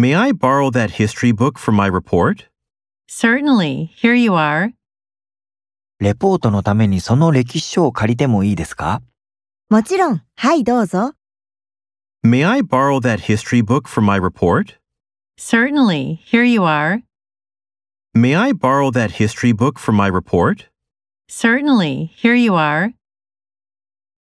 May I borrow that history book for my report? Certainly. Here you are. レポートのためにその歴史書を借りてもいいですか？ もちろん、はいどうぞ。 May I borrow that history book for my report? Certainly. Here you are. May I borrow that history book for my report? Certainly. Here you are.